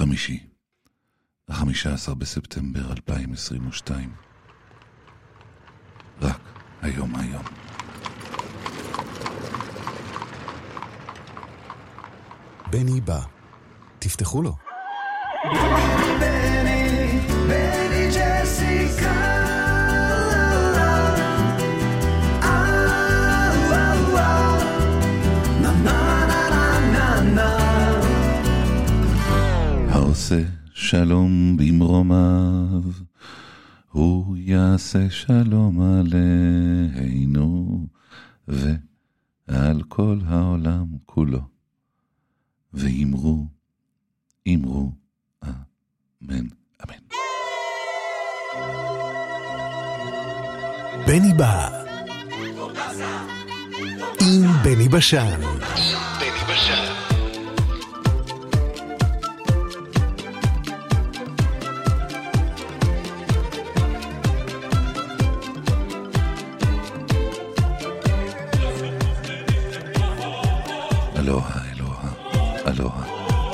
חמישי, 15 בספטמבר 2022. רק היום. בני בא. תפתחו לו. בני ג'סיקה. העושה שלום במרומיו, הוא יעשה שלום עלינו ועל כל העולם כולו. ואמרו, אמן, אמן. בני בא. עם בני בשן. אלוהה.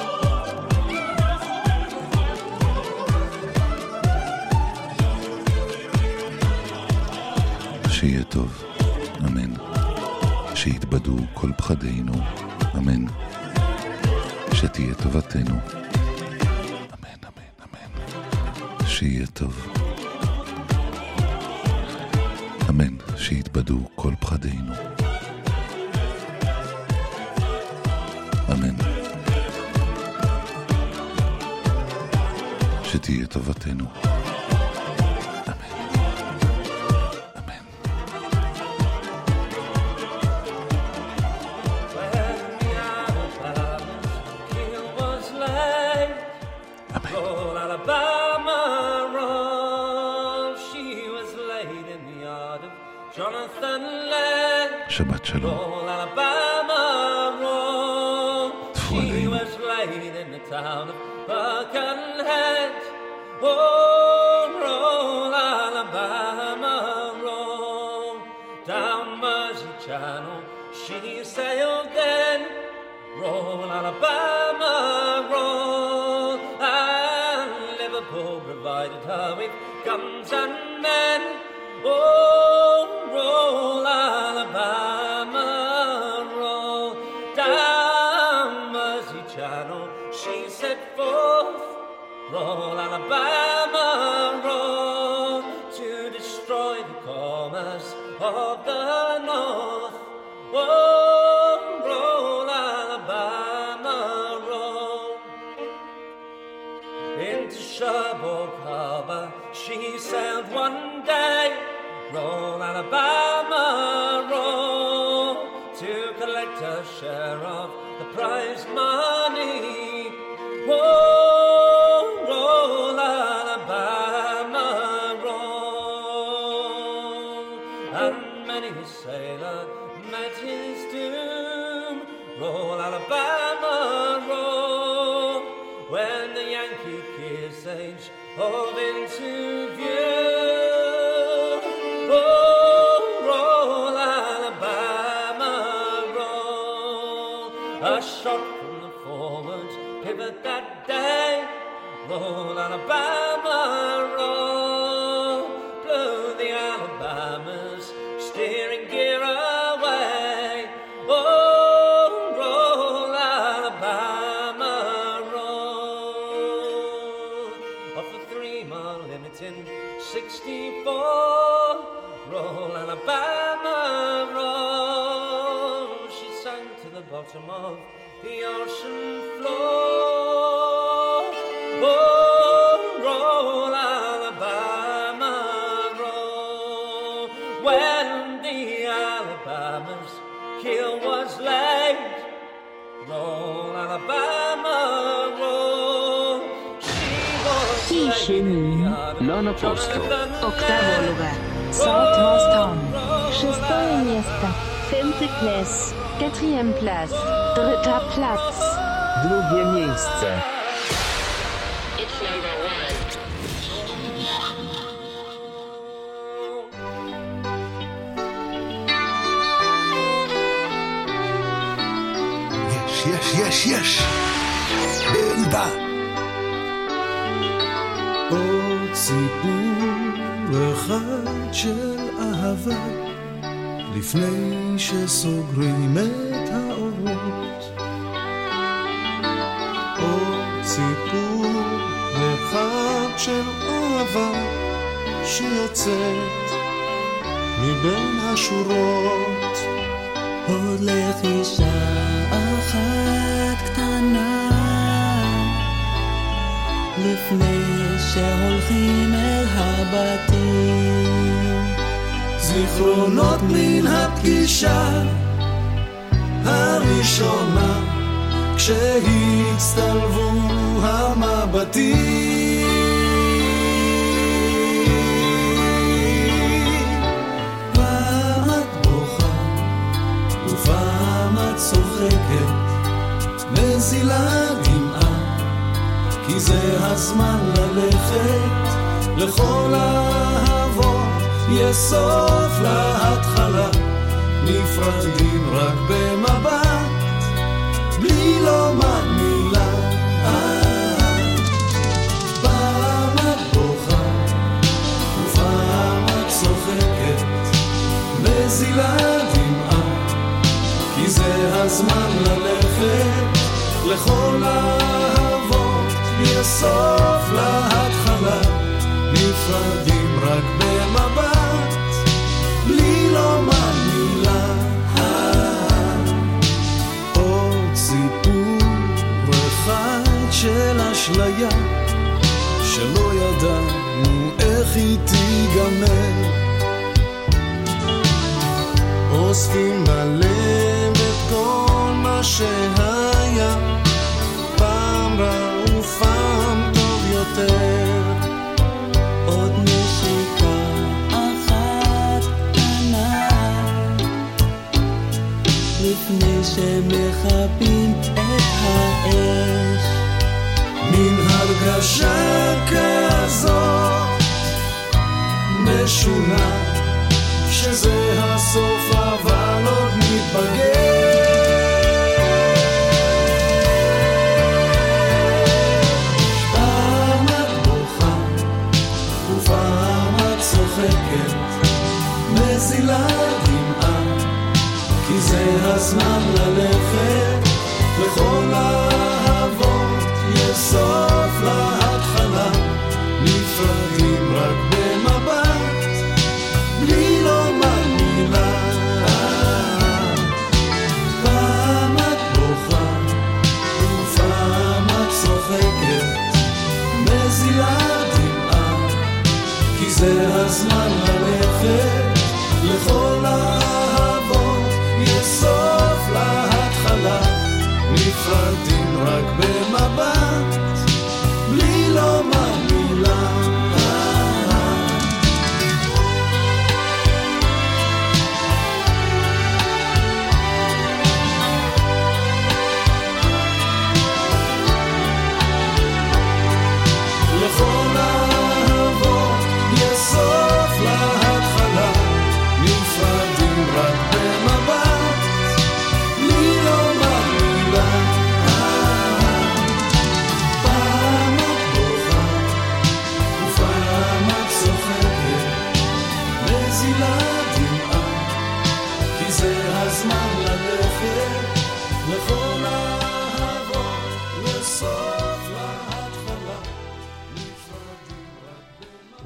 שיהיה טוב, אמן. שיתבדו כל פחדינו, אמן. שתהיה טובתנו, אמן. שיהיה טוב, אמן. שיתבדו כל פחדינו, אמן. שתהיה טובתנו, אמן. שבת שלום. She sailed then, roll Alabama, roll, and Liverpool provided her with guns and men. Oh, roll Alabama, roll, down Mersey Channel she set forth, roll Alabama, roll, to destroy the commerce of the North. Oh, roll Alabama, roll. Into Cherbourg Harbor she sailed one day. Roll Alabama, roll, to collect her share of the prize money. Oh, roll Alabama, roll. And many a sailor met his doom. Roll Alabama, roll, when the Yankee Kearsarge hove into view. Oh, roll Alabama, roll, a shot from the forward pivot that day. Roll Alabama, roll, blew the Alabamas steering gear away. Oh, roll Alabama, roll, off the 3 mile limit in 64. Roll Alabama, roll, she sank to the bottom of the ocean floor. Oh, roll Alabama, roll, when the Alabama's keel was laid. Roll Alabama, roll, she was laid. Lono Polsko. Octavo lugar. Southwestern. 6e место. 5. place. 4e place. 3. Platz. 2. miejsce. It's number 1. יש. בני בא. סיפור אחד של אהבה לפני שסוגרים את האורות. עוד סיפור אחד של אהבה שיוצאת מבין השורות. עוד לחישה אחת קטנה לפני שהולכים אל הבתים. זיכרונות מן הפגישה הראשונה כשהצטלבו המבטים. פעם את בוכה ופעם את צוחקת, נזילה דמעה, כי זה הזמן ללכת. לכל האהבות יש סוף להתחלה, נפרדים רק במבט, בלי לומר מילה. פעם את בוכה ופעם את צוחקת, נזילה דמעה, כי זה הזמן ללכת. לכל האהבות יש סוף להתחלה, נפרדים רק במבט, בלי לומר מילה. עוד סיפור אחד של אשליה שלא ידענו איך היא תיגמר. אוספים בלב את כל מה שהיה, פעם רע ופעם טוב יותר. עוד נשיקה אחת קטנה לפני שמחבים את האש. מן הרגשה כזאת משונה שזה הסוף אבל עוד נתבגר. פעם את בוכה ופעם את צוחקת, נזילה דמעה, כי זה הזמן ללכת. לכל האהבות יש סוף להתחלה, נפרדים רק במבט, בלי לומר מילה. פעם את בוכה ופעם את צוחקת, נזילה דמעה, כי זה הזמן ללכת. לכל האהבות יש סוף להתחלה, נפרדים רק במבט, בלי לומר מילה. לכל האהבות יש סוף להתחלה, נפרדים רק במבט, בלי לומר מילה. פעם את בוכה ופעם את צוחקת, נזילה דמעה, כי זה הזמן ללכת. לכל האהבות יש סוף להתחלה, נפרדים רק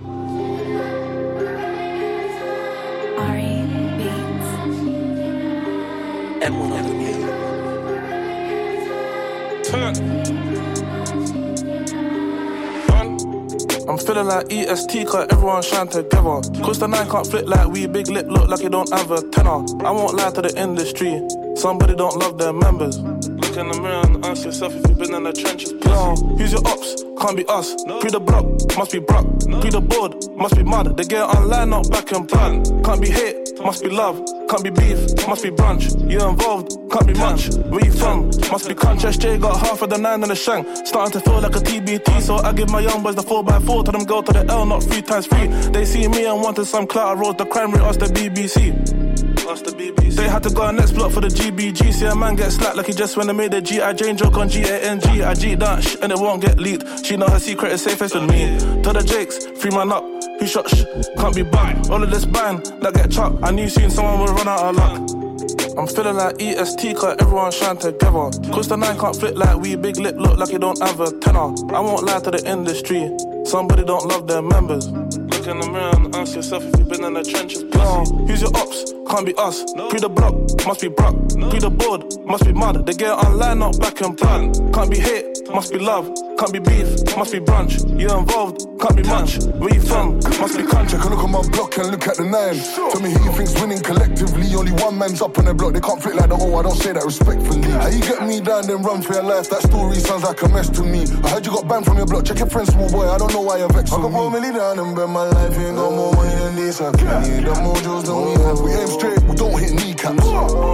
I'm feeling like EST cause everyone shine together. Cause the 9 can't flip like we, big lip look like you don't have a tenor. I won't lie to the industry, somebody don't love their members. Look in the mirror and ask yourself if you've been in the trenches. Yo, who's your ops? Can't be us. Pre the block, must be Brock. Pre the board, must be mud. They get online, not back and plan. Can't be hate, must be love. Can't be beef, must be brunch. You involved, can't be much. Where you from? Must be crunch. SJ got half of the 9 in the shank. Starting to feel like a TBT, so I give my young boys the 4x4. Tell them go to the L, not 3 times 3. They see me and wanted some clout. I wrote the crime rate, asked the BBC. Ask the BBC. They had to go next block for the GBG. See a man get slapped like he just when they made a G.I. Jane joke on G-A-N-G. I G that sh and it won't get leaked. She know her secret is safest with me. Tell the Jakes, 3 man up. Who shot sh? Can't be bugged. All of this bang, that get chopped. I knew soon someone would run out of luck. I'm feeling like EST, cause everyone shine together. Cause the 9 can't flip like we, big lip look like you don't have a tenor. I won't lie to the industry, somebody don't love their members. Look in the mirror and ask yourself if you've been in the trenches. Who's your ops? Can't be us. Pre the block, must be Brock. Pre the board, must be mud. They get online, not back and front. Can't be hate, must be love. Can't be beef, must be brunch. You're involved, can't be much. Where you from? Must be country. Can look at my block and look at the 9. Tell me who you think's winning collectively. Only one man's up on the block. They can't flip like the I don't say that respectfully. How you get me down then run for your life? That story sounds like a mess to me. I heard you got banned from your block. Check your friend, small boy. I don't know why you're vexed. I got 4 million down and bet my life ain't got more money than this. I can't need the mojos than we have. We aim straight, we don't hit kneecaps.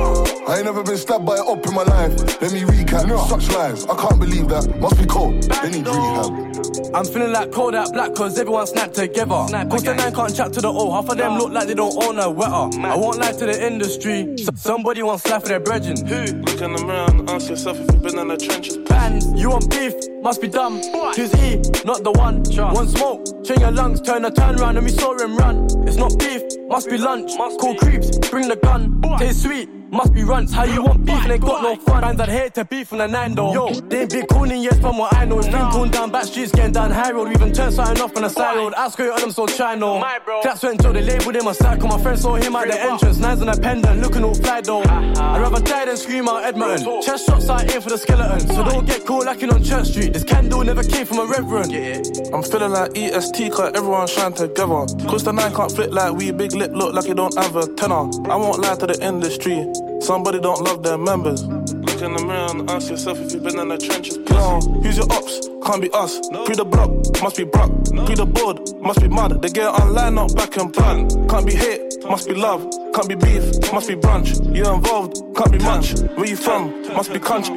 I ain't never been stabbed by an op in my life. Let me recap. Such lies, I can't believe that. Must be cold, they need rehab. I'm feeling like cold out black cause everyone snapped together. Cause the 9 can't chat to the O. Half of them look like they don't own a wetter. I won't lie to the industry. Somebody wants life for their brethren. Who? Look in the mirror and ask yourself if you've been in the trenches. Bands, you want beef? Must be dumb. Who's he? Not the one. One smoke, chain your lungs, turn round and we saw him run. It's not beef, must be lunch. Call creeps, bring the gun. Taste sweet, must be runts. How you want beef and they got no fun? Bands I'd hate to beef on the 9 though. Yo, they ain't big cooning yes from what I know. It's been cooled down back streets, getting down high road. We even turned something off on the side road. I screw on them so try no. Claps went until they labelled him a psycho. My friend saw him at the entrance. 9's on a pendant, looking all fly though. I'd rather die than scream out Edmonton. Chest shots I aim for the skeleton. So don't get cool lacking on Church Street. This candle never came from a reverend. I'm feeling like EST cause everyone shine together. Cause the 9 can't flip like we, big lip look like you don't have a tenor. I won't lie to the industry, somebody don't love their members. Look in the mirror and ask yourself if you've been in the trenches. Who's your ops? Can't be us. Pre the block, must be Brock. Pre the board, must be mud. They get online, not back and front. Can't be hate, must be love. Can't be beef, must be brunch. You're involved, can't be much. Where you from? Must be country.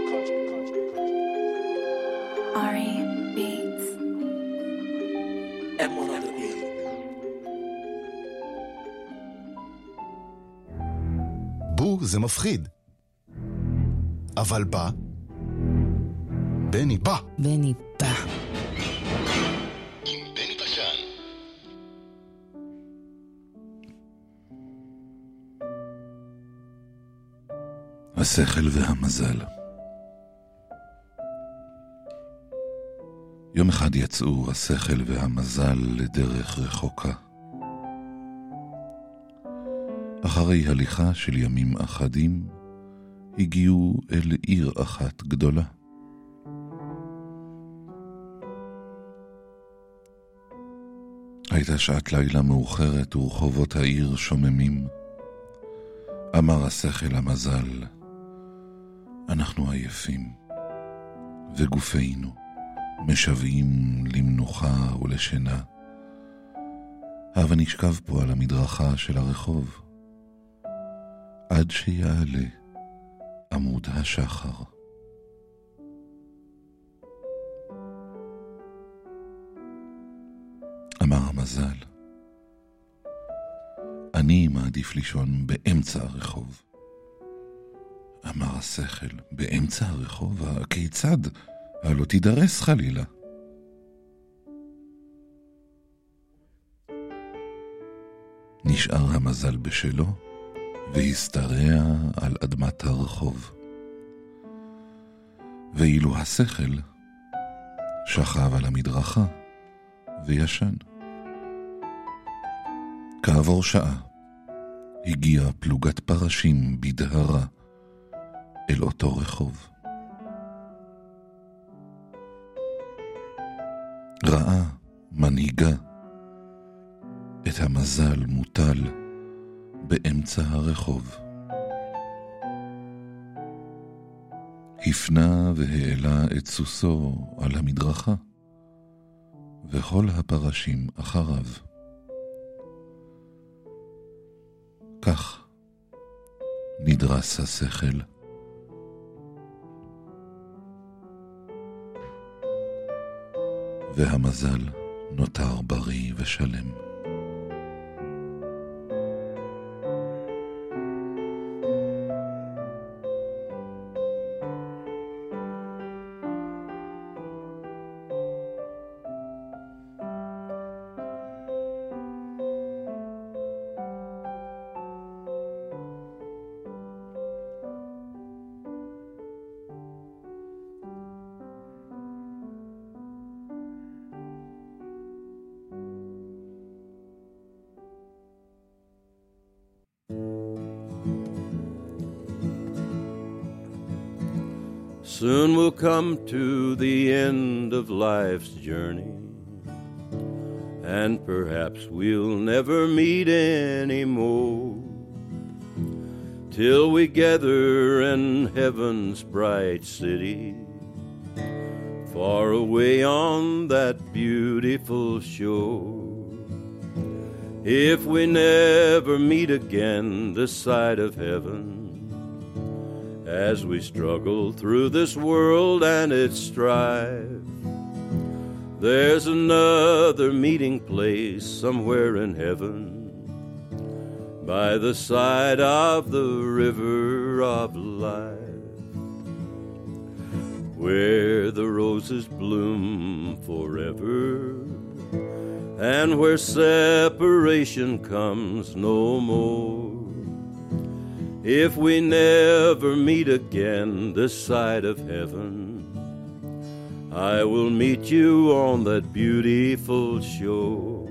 בו זה מפחיד. אבל בא. בני בא. בני בא. עם בני בשן. השכל והמזל. יום אחד יצאו השכל והמזל לדרך רחוקה. אחרי הליכה של ימים אחדים, הגיעו אל עיר אחת גדולה. הייתה שעת לילה מאוחרת ורחובות העיר שוממים. אמר השכל המזל, אנחנו עייפים, וגופינו משוועים למנוחה ולשינה. הבה נשכב פה על המדרכה של הרחוב, עד שיעלה עמוד השחר. אמר המזל, אני מעדיף לישון באמצע הרחוב. אמר השכל, באמצע הרחוב? כיצד? הלא תידרס חלילה. נשאר המזל בשלו, והסתרע על אדמת הרחוב. ואילו השכל שכב על המדרכה וישן. כעבור שעה הגיעה פלוגת פרשים בדהרה אל אותו רחוב. ראה מנהיגה את המזל מוטל באמצע הרחוב. הפנה והעלה את סוסו על המדרכה, וכל הפרשים אחריו. כך נדרס השכל. והמזל נותר בריא ושלם. Soon we'll come to the end of life's journey, and perhaps we'll never meet anymore, till we gather in heaven's bright city, far away on that beautiful shore. If we never meet again this side of heaven, as we struggle through this world and its strife, there's another meeting place somewhere in heaven, by the side of the river of life, where the roses bloom forever, and where separation comes no more. If we never meet again this side of heaven, I will meet you on that beautiful shore.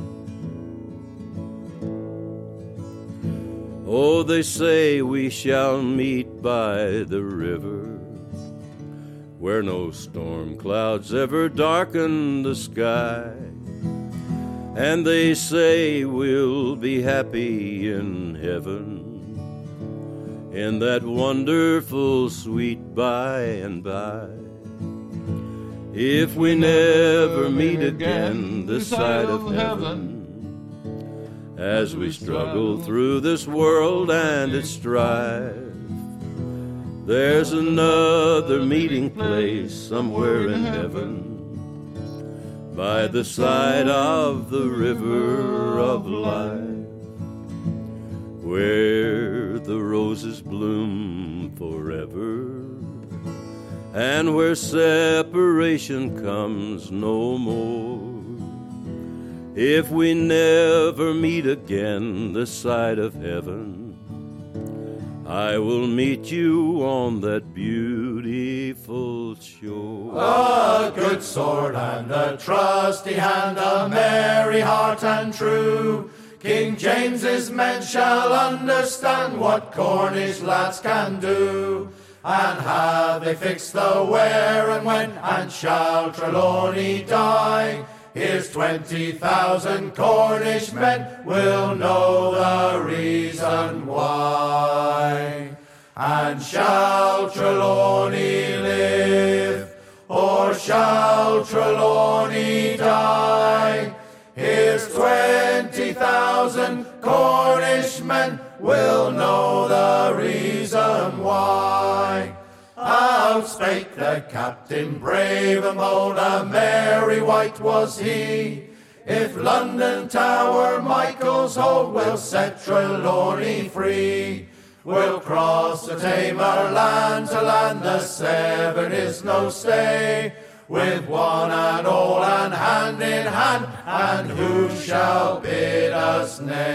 Oh, they say we shall meet by the river, where no storm clouds ever darken the sky. And they say we'll be happy in heaven, in that wonderful sweet by and by. If we never meet again this side of heaven, as we struggle through this world and its strife, there's another meeting place somewhere in heaven, by the side of the river of life, where the roses bloom forever, and where separation comes no more. If we never meet again this side of heaven, I will meet you on that beautiful shore. A good sword and a trusty hand, a merry heart and true, King James's men shall understand what Cornish lads can do. And have they fixed the where and when, and shall Trelawney die? Here's 20,000 Cornish men will know the reason why. And shall Trelawney live, or shall Trelawney die? Here's 20,000 Cornish men will know the reason why. Out spake the captain brave and bold, a merry wight was he. If London Tower Michael's hold, we'll set Trelawney free. We'll cross the Tamar land to land, the Severn is no stay, with one and all and hand in hand, and who shall bid us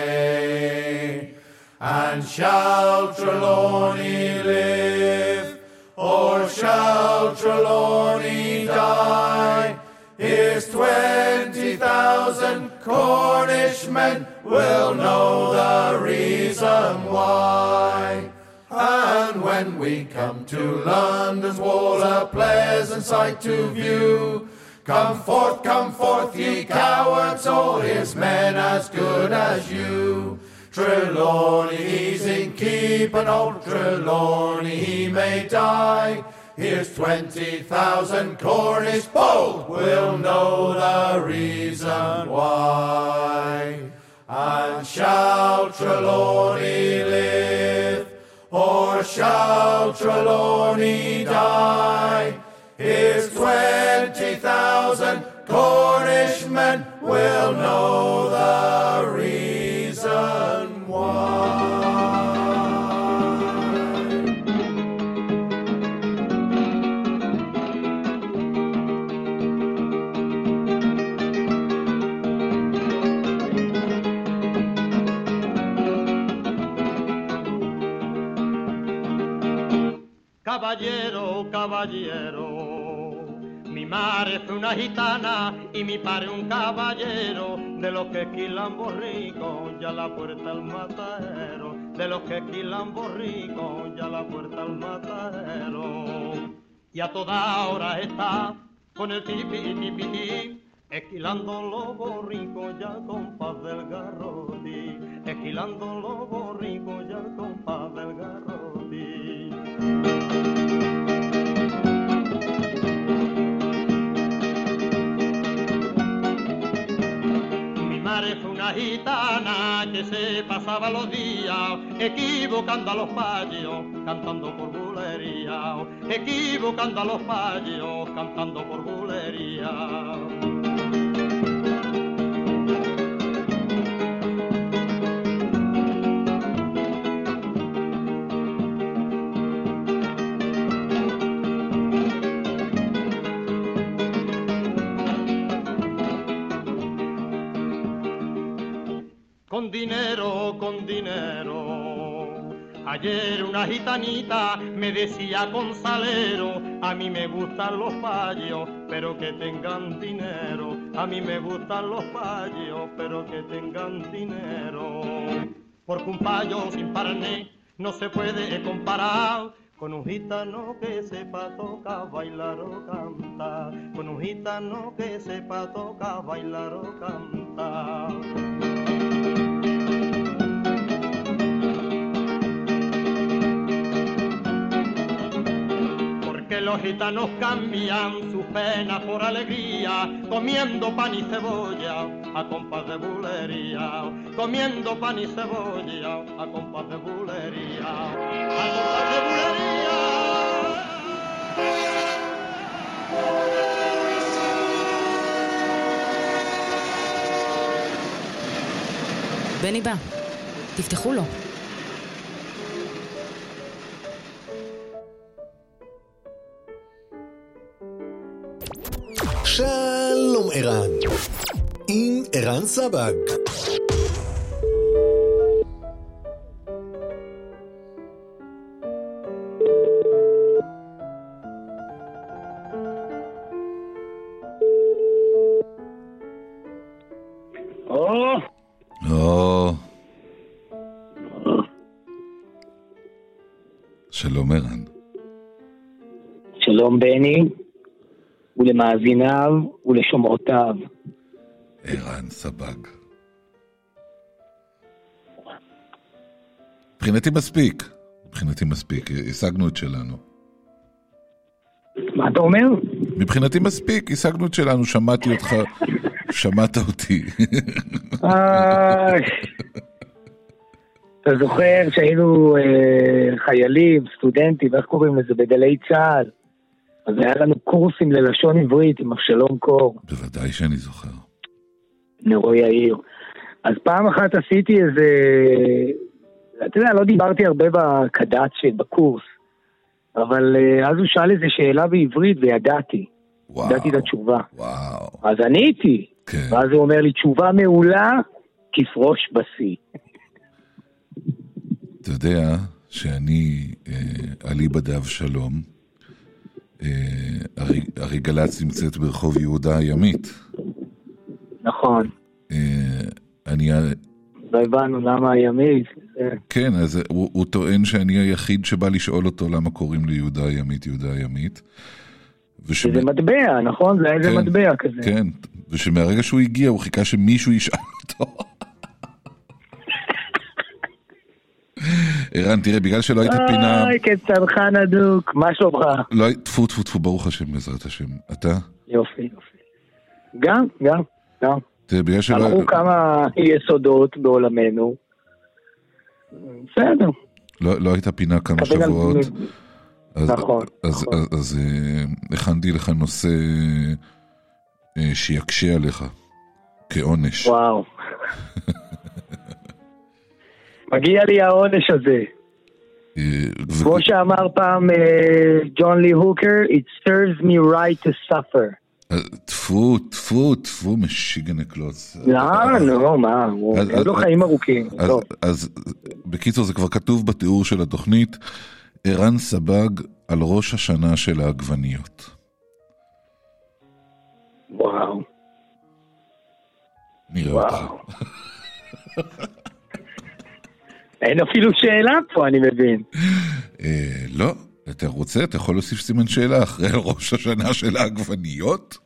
nay? And shall Trelawney live, or shall Trelawney die? Here's 20,000 Cornish men will know the reason why. And when we come to London's walls, a pleasant sight to view, come forth, ye cowards all, his men as good as you. Trelawney he's in keep, and old Trelawney he may die. Here's 20,000 Cornish bold will know the reason why. And shall Trelawney live, or shall Trelawney die? Here's 20,000 Cornish men will know the reason why. Caballero, caballero, mi madre fue una gitana y mi padre un caballero, de los que esquilan borricos, ya la puerta al matadero, de los que esquilan borricos, ya la puerta al matadero. y a toda hora está con el tipi, esquilando los borricos ya al compás del garrote, esquilando los borricos ya al compás del garrote. Mi madre fue una gitana que se pasaba los días equivocando a los payos, cantando por bulería, equivocando a los payos, cantando por bulería. Con dinero, ayer una gitanita me decía con salero, a mí me gustan los payos, pero que tengan dinero, a mí me gustan los payos, pero que tengan dinero, porque un payo sin parné no se puede comparar con un gitano que sepa tocar, bailar o cantar, con un gitano que sepa tocar, bailar o cantar. Que los gitanos cambian sus penas por alegría, comiendo pan y cebolla a compás de bulería, comiendo pan y cebolla a compás de bulería, a compás de bulería. בני בא, תפתחו לו. שלום ערן, עם ערן סבג. שלום ערן. שלום בני. ולמאזיניו ולשומעותיו. ערן סבג. מבחינתי מספיק, השגנו את שלנו. מה אתה אומר? מבחינתי מספיק, השגנו את שלנו, שמעתי אותך, שמעת אותי. אתה זוכר שהיינו חיילים, סטודנטים, איך קוראים לזה, בגלי צה"ל? אז היה לנו קורסים ללשון עברית עם אבשלום קור. בוודאי שאני זוכר. נרו יאיר. אז פעם אחת עשיתי איזה... אתה יודע, לא דיברתי הרבה בקד"צ בקורס, אבל אז הוא שאל איזה שאלה בעברית וידעתי. וואו. ידעתי את התשובה. וואו. אז עניתי. כן. ואז הוא אומר לי, תשובה מעולה, כפרוש בשיא. אתה יודע שאני אליבא דאבשלום, הרי גל"צ נמצאת ברחוב יהודה הימית. נכון. אני... לא הבנו למה הימית. כן, אז הוא טוען שאני היחיד שבא לשאול אותו למה קוראים לי יהודה הימית. זה מטבע, נכון? זה איזה מטבע כזה. כן, ושמהרגע שהוא הגיע הוא חיכה שמישהו ישאל אותו. ערן, תראה, בגלל שלא היית פינה... אוי, כצרכן הדוק, מה שלומך? טפו, ברוך השם, בעזרת השם. אתה? יופי. גם. בגלל שלא... הלכו כמה יסודות בעולמנו. בסדר. לא היית פינה כמה שבועות. נכון. אז הכנתי לך נושא שיקשה עליך, כעונש. וואו. מגיע לי העונש הזה. כמו שאמר פעם ג'ון לי הוקר, it serves me right to suffer. טפו, משיגן הקלוץ. לא, מה, לא חיים ארוכים. אז בקיצור זה כבר כתוב בתיאור של התוכנית, ערן סבג על ראש השנה של העגבניות. וואו. נראה אותך. אין אפילו שאלה פה, אני מבין. לא, אתה רוצה? אתה יכול להוסיף סימן שאלה אחרי ראש השנה של העגבניות?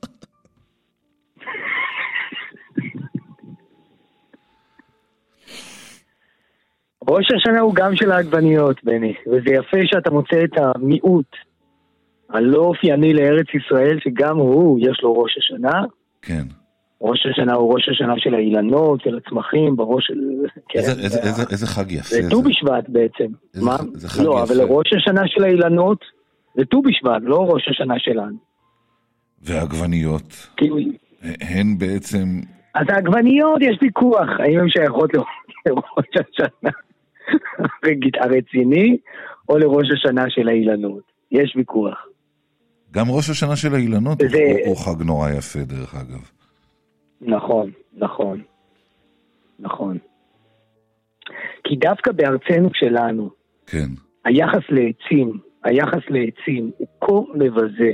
ראש השנה הוא גם של העגבניות, בני, וזה יפה שאתה מוצא את המיעוט הלא אופייני לארץ ישראל, שגם הוא, יש לו ראש השנה. כן. ראש השנה הוא ראש השנה של האילנות, של הצמחים, בראש של... איזה חג יפה. זה ט"ו בשבט בעצם. מה? זה חג לא, יפה. אבל ראש השנה של האילנות זה ט"ו בשבט, לא ראש השנה שלנו. והעגבניות, הן בעצם... אז העגבניות יש ויכוח, האם הן שייכות לראש השנה הרציני, או לראש השנה של האילנות. יש ויכוח. גם ראש השנה של האילנות הוא חג נורא יפה, דרך אגב. נכון, נכון, נכון. כי דווקא בארצנו שלנו, כן. היחס לעצים הוא כה מבזה.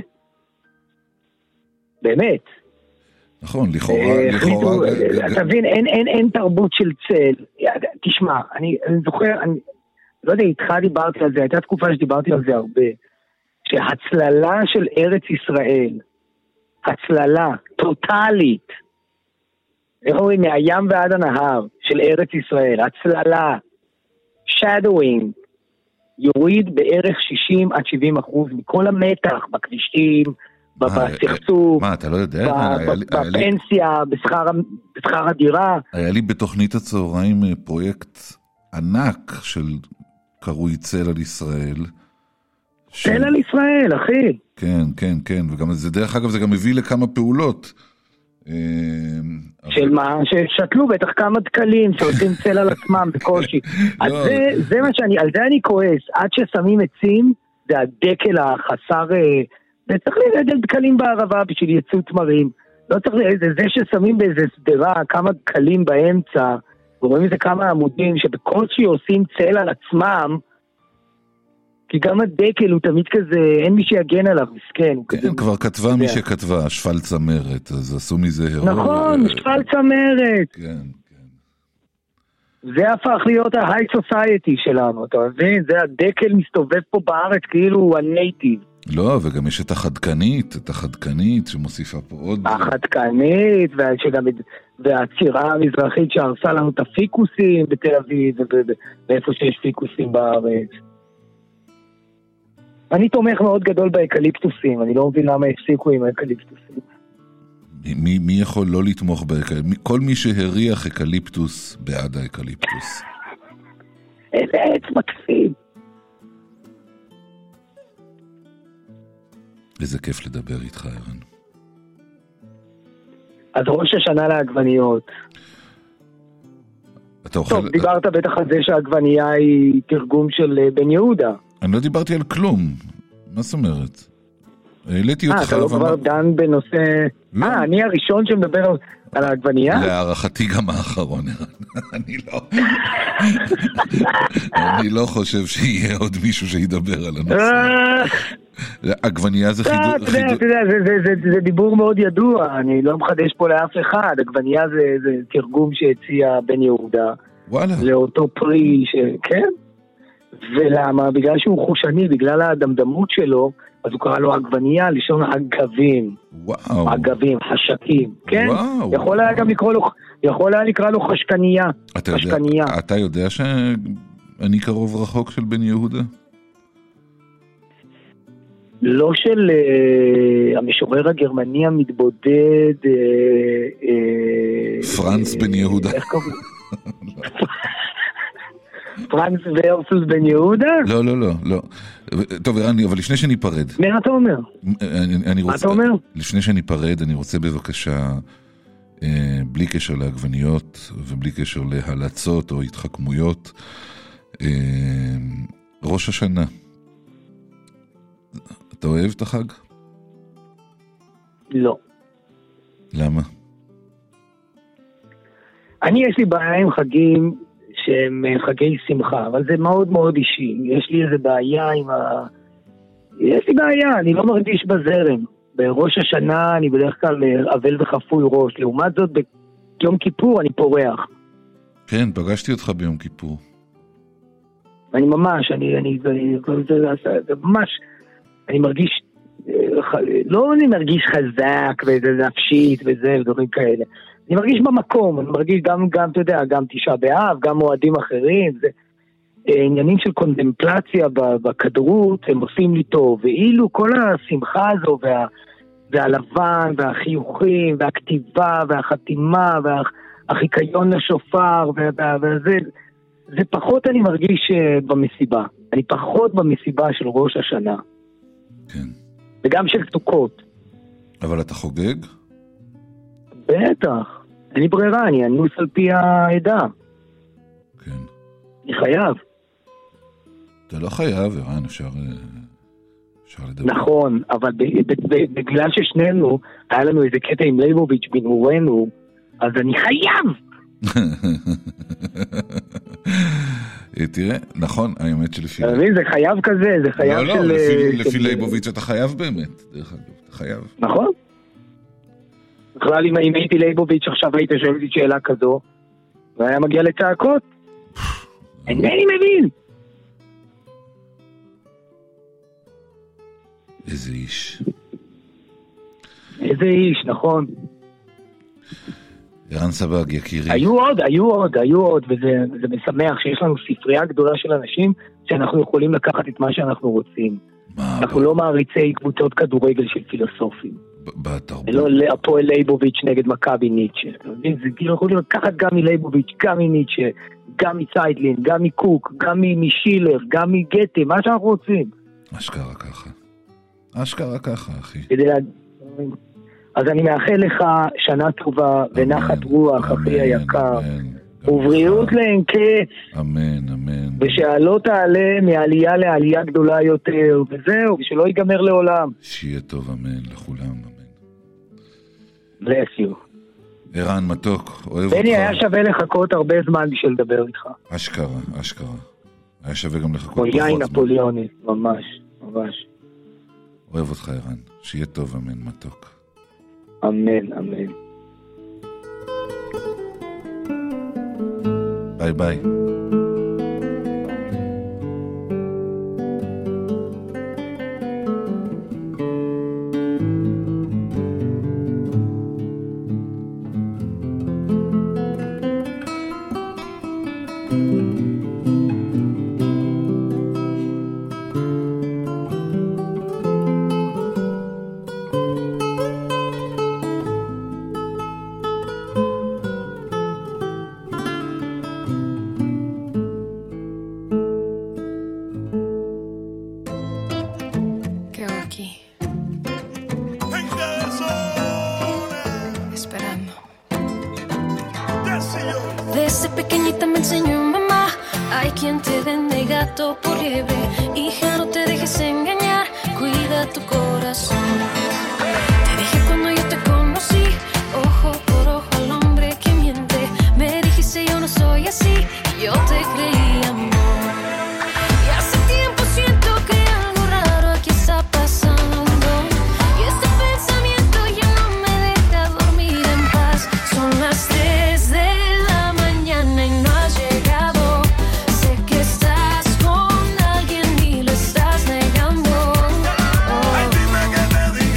באמת. נכון, לכאורה... אתה מבין, אין תרבות של צל. תשמע, אני זוכר, אני לא יודע, איתך דיברתי על זה, הייתה תקופה שדיברתי על זה הרבה, שהצללה של ארץ ישראל, הצללה טוטלית, איך אומרים, מהים ועד הנהר של ארץ ישראל, הצללה, shadowing, יוריד בערך 60-70% מכל המתח בכבישים, בסכסוך, מה, אתה לא יודע? בפנסיה, בשכר הדירה. היה לי בתוכנית הצהריים פרויקט ענק של קרוי צל על ישראל. צל על ישראל, אחי. כן, כן, כן, וגם זה, דרך אגב, זה גם מביא לכמה פעולות. של מה? ששתלו בטח כמה דקלים שעושים צל על עצמם בקושי. אז זה מה שאני, על זה אני כועס. עד ששמים עצים, זה הדקל החסר... וצריך לרדל דקלים בערבה בשביל יצוא תמרים. לא צריך זה ששמים באיזה סדרה כמה דקלים באמצע, ורואים איזה כמה עמודים שבקושי עושים צל על עצמם, כי גם הדקל הוא תמיד כזה, אין מי שיגן עליו, מסכן. כן, כבר כתבה מי שכתבה, שפל צמרת, אז עשו מזה הרוע. נכון, שפל צמרת. כן, כן. זה הפך להיות ההיי סוסייטי שלנו, אתה מבין? זה הדקל מסתובב פה בארץ כאילו הוא הנייטיב. לא, וגם יש את החדקנית שמוסיפה פה עוד... החדקנית, והצירה המזרחית שהרסה לנו את הפיקוסים בתל אביב, ואיפה שיש פיקוסים בארץ. אני תומך מאוד גדול באקליפטוסים, אני לא מבין למה הפסיקו עם האקליפטוסים. מי יכול לא לתמוך באקליפטוס? כל מי שהריח אקליפטוס בעד האקליפטוס. איזה עץ מקסים. איזה כיף לדבר איתך, ערן. אז ראש השנה לעגבניות. טוב, דיברת בטח על זה שהעגבנייה היא תרגום של בן יהודה. אני לא דיברתי על כלום. מה זאת אומרת? העליתי אותך... אתה לא כבר דן בנושא... אני הראשון שמדבר על העגבנייה? להערכתי גם האחרון, אני לא חושב שיהיה עוד מישהו שידבר על הנושא. עגבנייה זה חידור... אתה יודע, זה דיבור מאוד ידוע, אני לא מחדש פה לאף אחד. עגבנייה זה תרגום שהציע בן יהודה. וואלה. לאותו פרי כן? ולמה? בגלל שהוא חושני, בגלל הדמדמות שלו, אז הוא קרא לו עגבנייה, לשון עגבים. וואו. עגבים, חשקים. כן? וואו. יכול היה לקרוא לו חשקנייה. אתה יודע שאני קרוב רחוק של בן יהודה? לא של המשורר הגרמני המתבודד פרנץ בן יהודה. איך קוראים? פרנץ ורסוס בן יהודה? לא. טוב, אבל לפני שניפרד. מה אתה אומר? מה אתה אומר? לפני שניפרד, אני רוצה בבקשה, בלי קשר לעגבניות, ובלי קשר להלצות או התחכמויות, ראש השנה. אתה אוהב את החג? לא. למה? יש לי בעיה עם חגים שהם חגי שמחה, אבל זה מאוד מאוד אישי. יש לי איזה בעיה יש לי בעיה, אני לא מרגיש בזרם. בראש השנה אני בדרך כלל אבל וחפוי ראש. לעומת זאת, ביום כיפור אני פורח. כן, פגשתי אותך ביום כיפור. אני ממש, אני מרגיש, לא אני מרגיש חזק ונפשית וזה ודברים כאלה. אני מרגיש במקום, אני מרגיש גם, אתה יודע, גם תשעה באב, גם מועדים אחרים, זה עניינים של קונטמפלציה בכדרות, הם עושים לי טוב, ואילו כל השמחה הזו, והלבן, והחיוכים, והכתיבה, והחתימה, והחיקיון לשופר, וזה, זה פחות אני מרגיש במסיבה. אני פחות במסיבה של ראש השנה. כן. וגם של סוכות. אבל אתה חוגג? בטח. אין לי ברירה, אני אנוס על פי העדה. כן. אני חייב. אתה לא חייב, ערן, אפשר לדבר. נכון, אבל בגלל ששנינו, היה לנו איזה קטע עם ליבוביץ' בנורנו, אז אני חייב! תראה, נכון, האמת שלפי... זה חייב כזה, זה חייב של... לא, לפי ליבוביץ' אתה חייב באמת, דרך אגב, אתה חייב. נכון. בכלל, אם הייתי ליבוביץ' עכשיו היית שואל לי שאלה כזו, והיה מגיע לצעקות. אינני מבין! איזה איש. איזה איש, נכון. ערן סבג, יקירי. היו עוד, וזה משמח שיש לנו ספרייה גדולה של אנשים שאנחנו יכולים לקחת את מה שאנחנו רוצים. אנחנו לא מעריצי קבוצות כדורגל של פילוסופים. בתרבות. לא להפועל ליבוביץ' נגד מכבי ניטשה. זה כאילו יכולים לקחת גם מליבוביץ', גם מניטשה, גם מצייטלין, גם מקוק, גם משילר, גם מגטה, מה שאנחנו רוצים. אשכרה ככה. אשכרה ככה, אחי. אז אני מאחל לך שנה טובה ונחת רוח, אחי היקר, ובריאות לאין קץ. אמן, אמן. ושעלו תעלה מעלייה לעלייה גדולה יותר, וזהו, ושלא ייגמר לעולם. שיהיה טוב, אמן, לכולם, אמן. bless you. ערן מתוק, אוהב אותך. בני, היה שווה לחכות הרבה זמן בשביל לדבר איתך. אשכרה, אשכרה. היה שווה גם לחכות פחות זמן. כמו יין נפוליוני, ממש, ממש. אוהב אותך, ערן. שיהיה טוב, אמן, מתוק. אמן, אמן. ביי ביי. Desde pequeñita me enseñó mamá, hay quien te vende gato por liebre. Hija, no te dejes engañar, cuida tu corazón. Te dije cuando yo te conocí, ojo por ojo al hombre que miente. Me dijiste yo no soy así, y yo te creí, amor. Y hace tiempo siento que algo raro aquí está pasando, y este pensamiento ya no me deja dormir en paz. Son las 3 de la mañana y no has llegado. Sé que estás con alguien y lo estás negando. Ay, dime que te diga.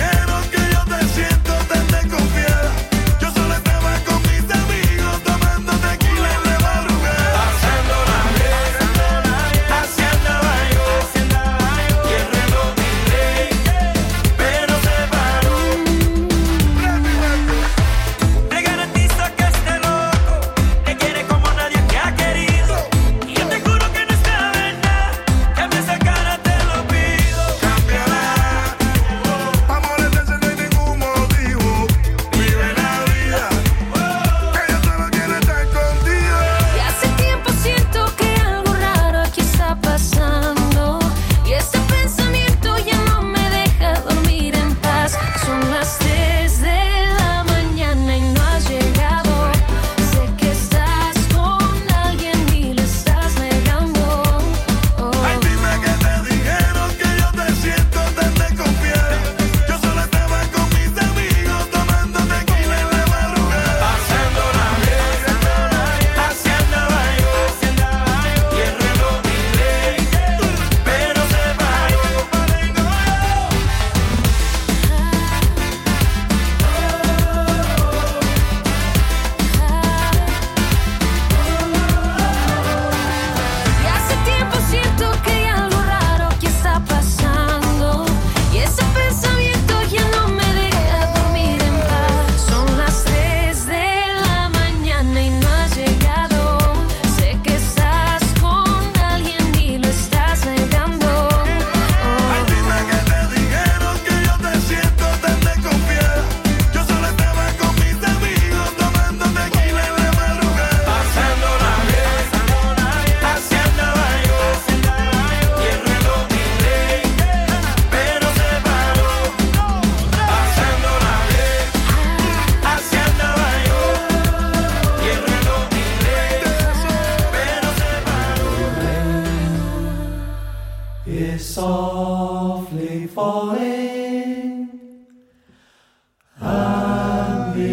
the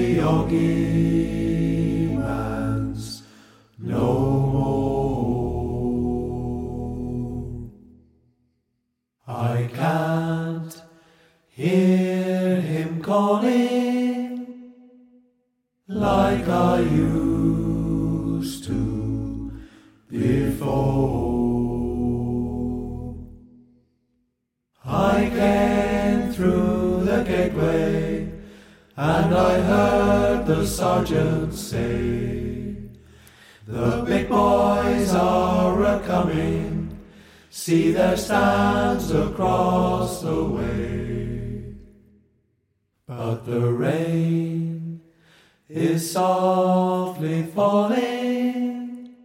yogi man's no more. I can't hear him calling like I used to before. I came through the gateway and I heard the sergeant say, the big boys are a-coming, see their stands across the way. But the rain is softly falling,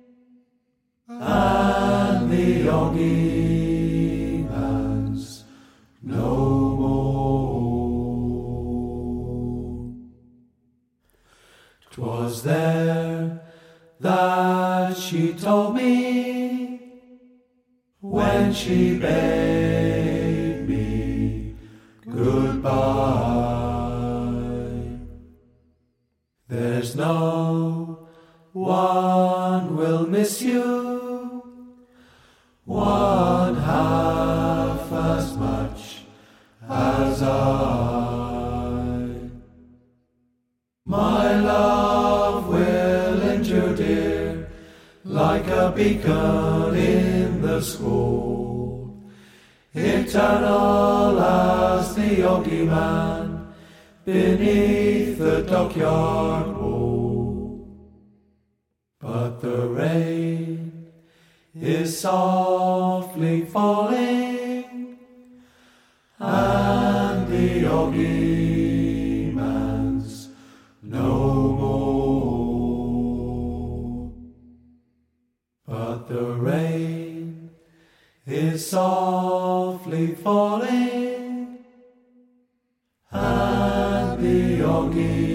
and the yogi man's no more. 'Twas there that she told me when she bade me goodbye. There's no one will miss you one half as much as I. My love will endure, dear, like a beacon in the school, eternal as the yogi man beneath the dockyard wall. But the rain is softly falling, and the yogi man's no more. But the rain is softly falling, and the yogi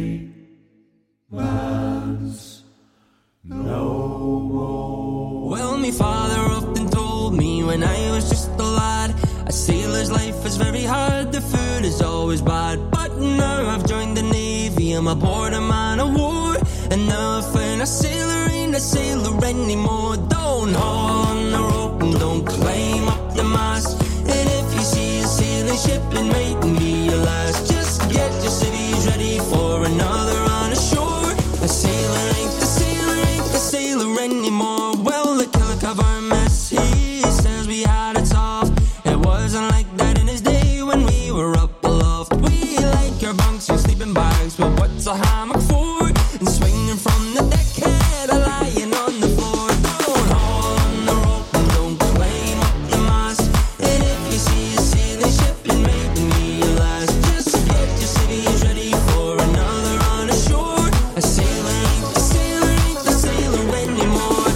man's no more. Well, me father often told me when I was just a lad, a sailor's life is very hard, the food is always bad. But now I've joined the Navy, I'm aboard a man of war, and now I find a sailor ain't a sailor anymore. Don't haul on the rope and don't climb up the mast, and if you see a sailing ship, it mightn't be your last. Just get your civvies ready for another on the shore. A sailor ain't the sailor, ain't the sailor anymore. Well, the killer cover mess, he says we had it soft. It wasn't like that in his day when we were up aloft. We like our bunks and sleeping bags, but what's a hammock for? And swinging from the deckhead, a lying on the floor. Don't haul on the rope and don't climb up the mast, and if you see a sailing ship, it may be your last. Just get your civvies ready for another on the shore. A sailor ain't the sailor, ain't the sailor anymore.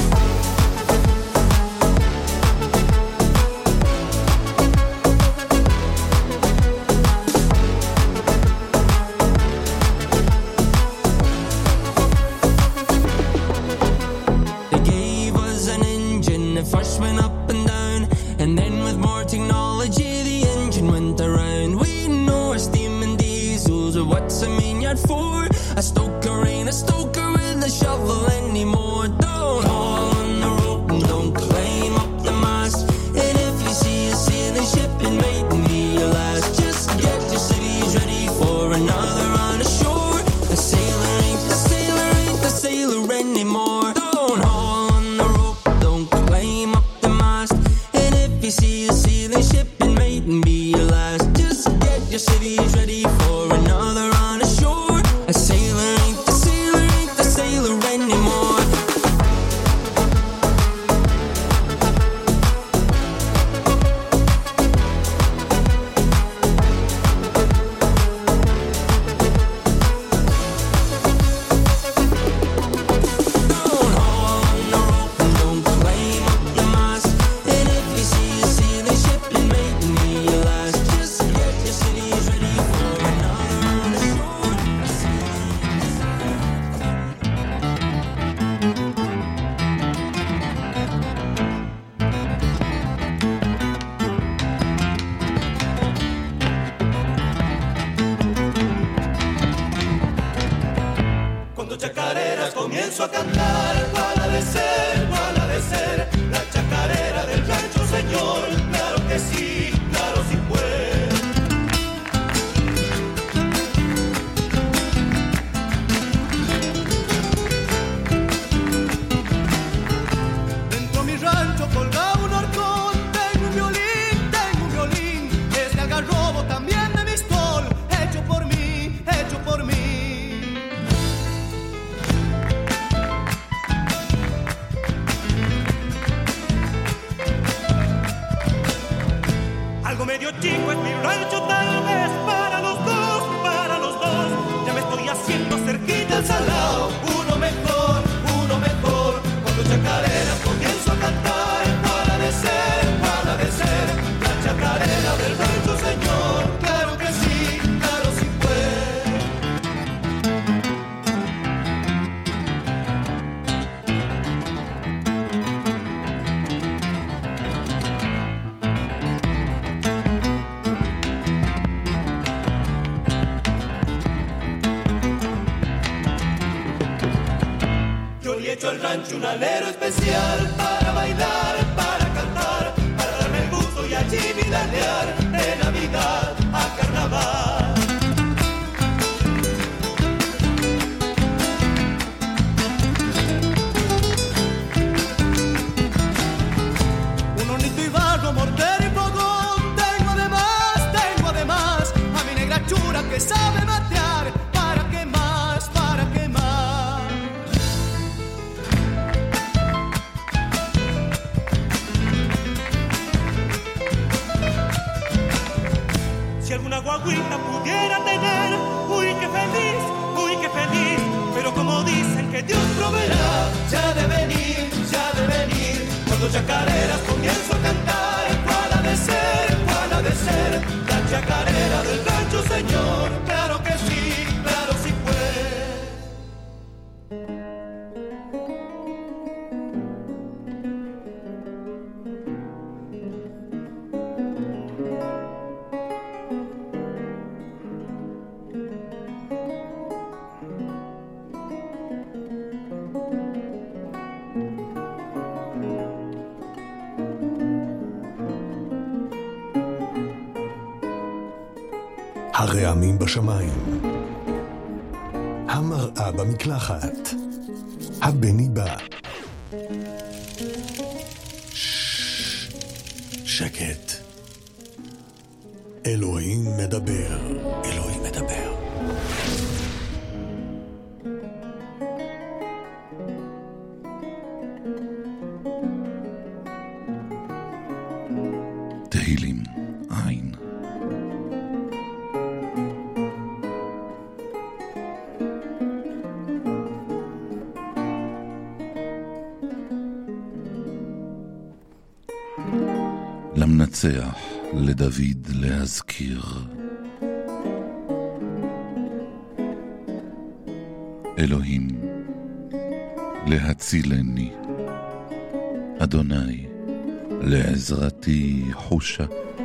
They gave us an engine that first went up and down, and then with more technology the engine went around. We know our steam and diesels are what's a main yard for. A stoker ain't a stoker with a shovel anymore. Don't haul on the rope and don't climb up the mast, and if you see a sailing ship, it mightn't be your last. Just get your civvies ready for another on the shore. A sailor ain't the sailor, ain't the sailor anymore. Don't haul on the rope, don't climb up the mast, and if you see a sailing ship, it mightn't be your last. Just get your civvies ready for another on the shore. A sailor ain't the sailor, ain't the sailor anymore. comienzo a cantar. ¿Cuál ha de ser? ¿Cuál ha de ser? La chacarera del rancho, señor. Claro que sí, claro sí puede. Dentro mi rancho colgaba un horcón. Tengo un violín. Es de algarrobo también de mistol. Hecho por mí. Algo medio chico es mi rancho, tal vez para los dos. Ya me estoy haciendo cerquita al salado. Uno mejor. Cuando chacareras comienzo a cantar. ¿Cuál ha de ser? La chacarera del rancho, señor. Claro que sí, claro sí puede. He hecho al rancho un alero especial para bailar, para cantar, para darme el gusto y allí vidalear de Navidad a Carnaval. Un hornito y barro, mortero y fogón, tengo de más, a mi negra chura que sabe matear, ¿para qué más? Si alguna guaguita pudiera tener, uy qué feliz, pero como dicen que Dios proveerá, ya de venir, cuando chacareras comienzo a cantar. ¿Cuál ha de ser? La chacarera del rancho, señor, claro que sí puede. הרעמים בשמיים, המראה במקלחת, הבני בא. שקט. אלוהים מדבר. תהילים עין. למנצח לדוד להזכיר. אלוהים להצילני, אדוני לעזרתי חושה.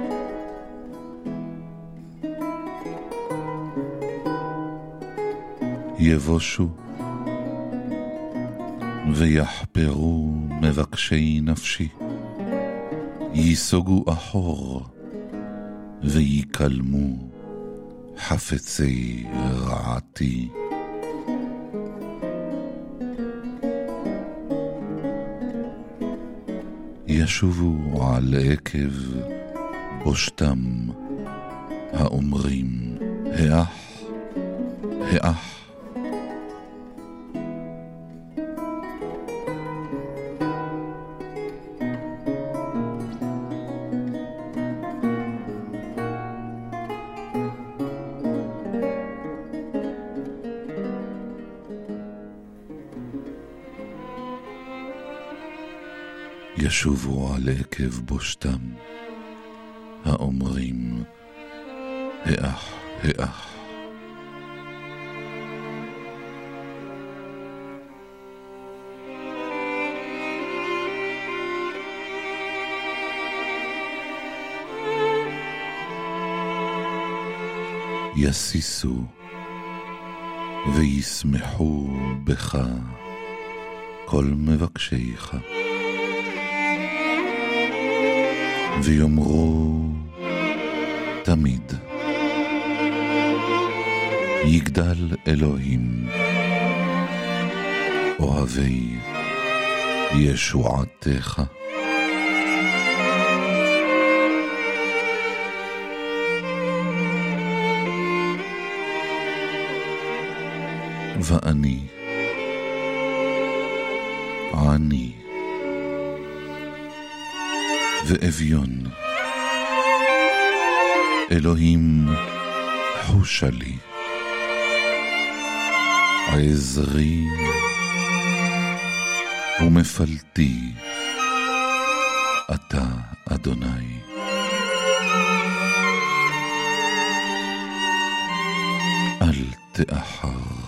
יבושו ויחפרו מבקשי נפשי, ייסוגו אחור ויקלמו חפצי רעתי. ישובו על עקב בושתם האומרים האח, האח. ישובו על עקב בושתם האומרים האח, האח. יסיסו וישמחו בך כל מבקשיך, ויאמרו תמיד, יגדל אלוהים, אוהבי ישועתך. ואני עני ואביון, אלוהים חושה לי, עזרי ומפלתי אתה אדוני. אל תאחר.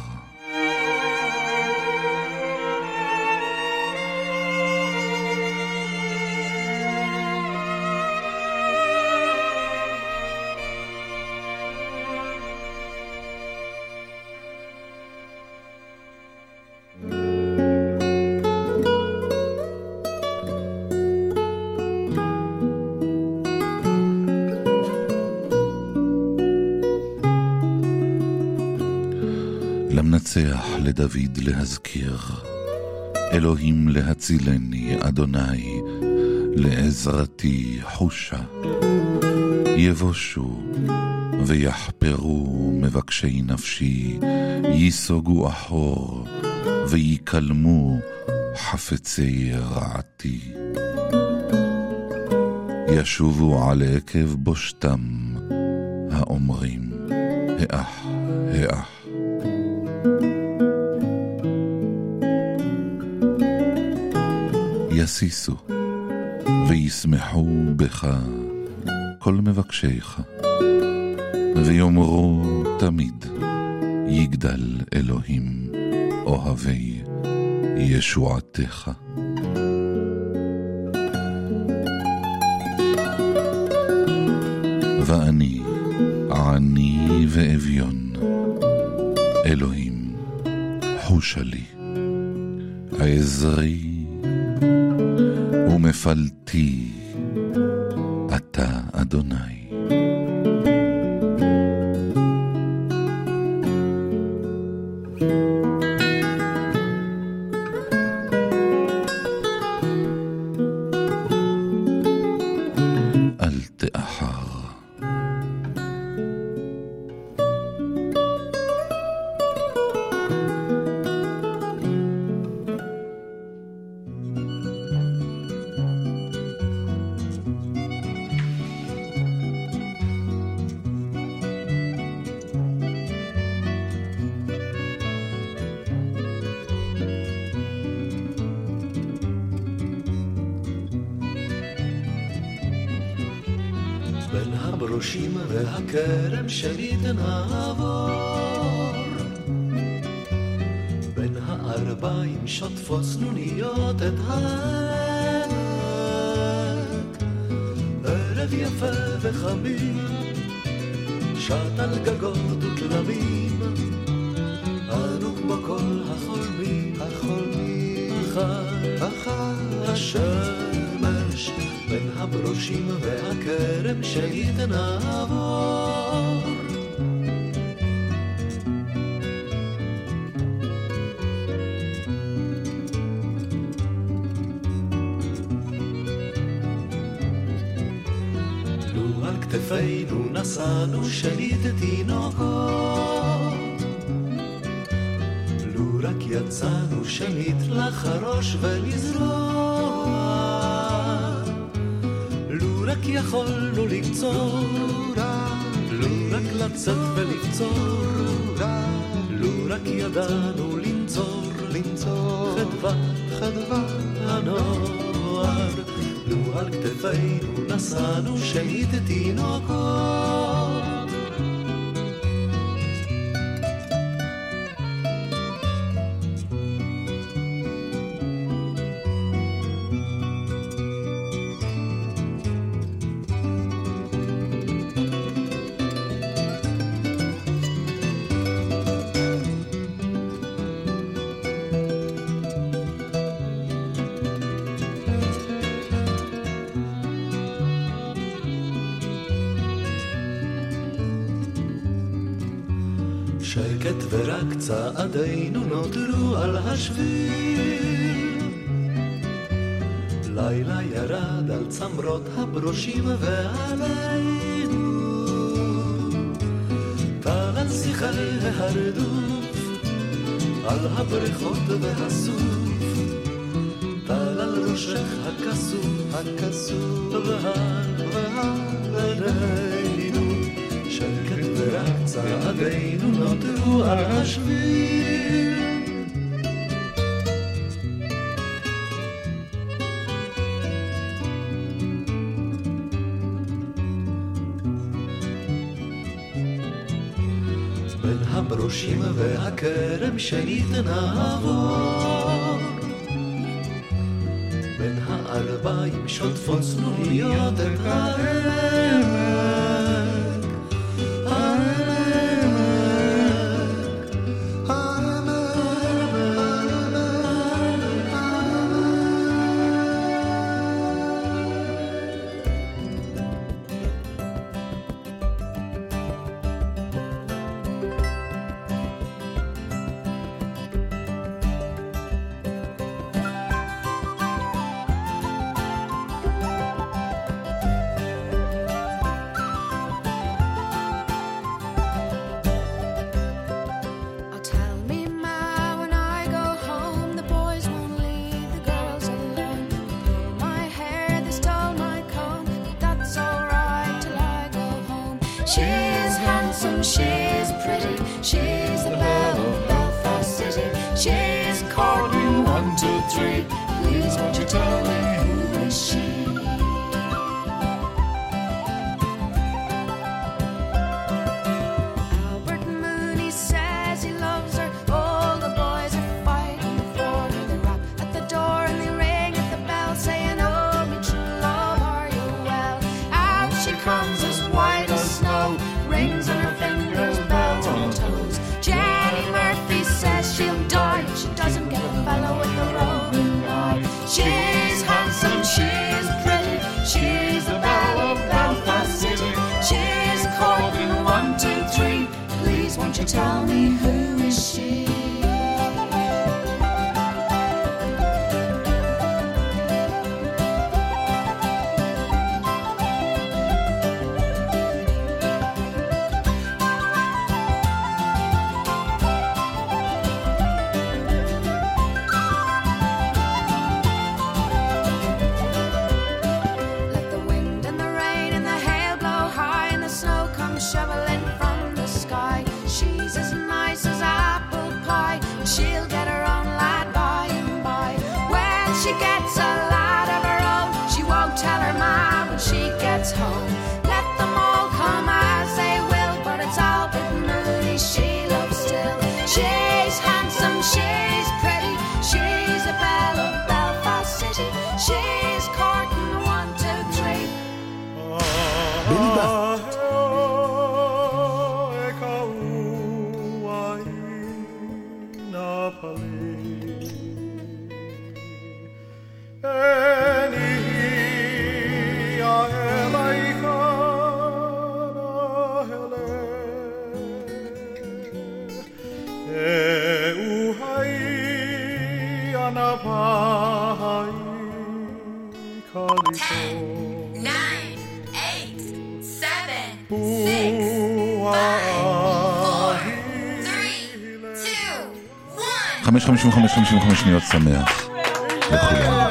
למנצח לדוד להזכיר, אלוהים להצילני, אדוני לעזרתי חושה. יבושו ויחפרו מבקשי נפשי, יסוגו אחור ויקלמו חפצי רעתי. ישובו על עקב בושתם האומרים, האח, האח. יסיסו וישמחו בך כל מבקשיך, ויאמרו תמיד, יגדל אלוהים, אוהבי ישועתך. ואני עני ואביון, אלוהים חושה לי, עזרי ומפלתי אתה אדוני. אל תאחר. בין הברושים והכרם שלי תנעבור, בין הערביים שוטפות סנוניות את העמק, ערב יפה וחמים שט על גגות ותלמים, אנו כמו כל החולמים, אחר השמש. בין הברושים והכרם שלי תנעבור, לו על כתפינו נשאנו שליט תינוקות, לו רק יצאנו שנית לחרוש ולזרוע, רק יכולנו לקצור, לו רק לצאת ולקצור, לו רק ידענו לנצור חדווה הנוער, לו על כתפינו נשאנו שנית תינוקות. שקט ורק צעדינו נותרו על השביל. לילה ירד על צמרות הברושים ועלינו טל על שיחי ההרדוף, על הבריכות והסוף, טל על ראשך הכסוף, ועלינו שקט ורק צעדינו נותרו על השביל. בין הברושים והכרם שנית נעבור, בין הערביים שוטפות צנוניות את She's handsome, she's pretty, she's the belle of Belfast City. She's courting 1, 2, 3. Please won't you tell me who is she? Albert Mooney says he loves her. All the boys are fighting for her. They rap at the door and they ring at the bell, saying, "Oh, me true love, are you well?" Out she comes as white as snow, rings on her fingers, bells on her toes. Jenny Murphy says she'll die if she doesn't get a fellow with the roving eye. She's handsome, she's pretty, she's the belle of Belfast City. She's courting 1, 2, 3. Please won't you tell me who is she? Shoveling from the sky. She's as nice as apple pie. She'll get her own lad by and by. When she gets a lad of her own, she won't tell her ma when she gets home. Let them all come as they will, but it's Albert Mooney she loves still. She's handsome, she's pretty, she's a belle of Belfast City. She's courting 1, 2, 3. חמש 55 שניות שמח לכולם.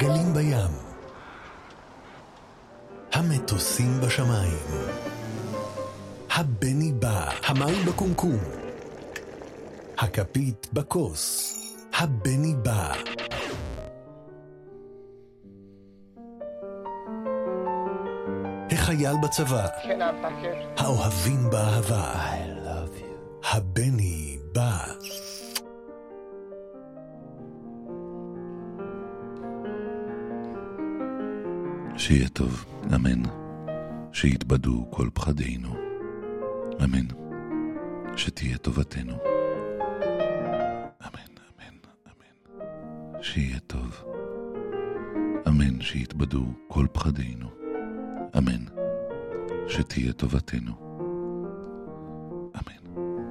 הגלים בים, המטוסים בשמיים, הבני בא, המים בקומקום, הכפית בכוס, הבני בא. החייל בצבא, האוהבים באהבה, I love you. הבני בא. שיהיה טוב, אמן. שיתבדו כל פחדינו, אמן. שתהיה טובתנו, אמן, אמן, אמן. שיהיה טוב, אמן. שיתבדו כל פחדינו, אמן. שתהיה טובתנו, אמן.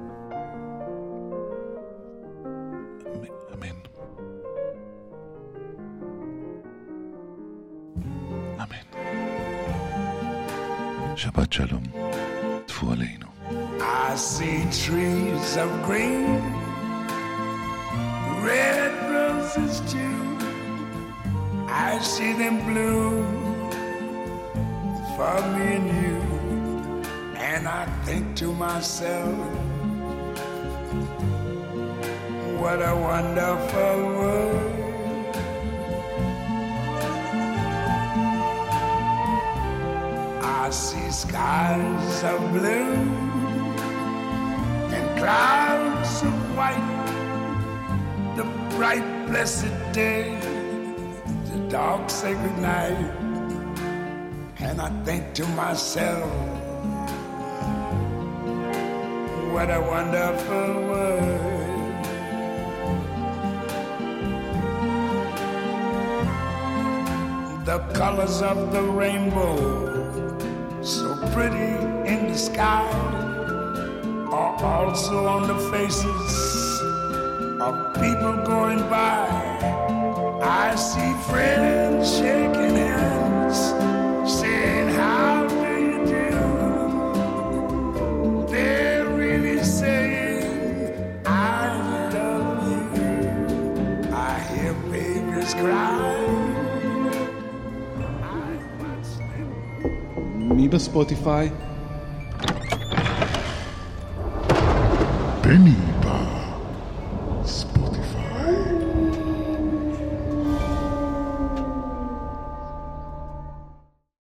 אמן. אמן. שבת שלום, טפו עלינו. I see trees of green, red roses too. I see them bloom for me and you. And I think to myself, what a wonderful world. I see skies of blue and clouds of white, the bright blessed day, the dark sacred night. And I think to myself, what a wonderful world. The colors of the rainbow, so pretty in the sky, are also on the faces of people going by. I see friends shaking hands, saying how do you do. They're really saying I love you. I hear babies cry. מי בספוטיפיי? בני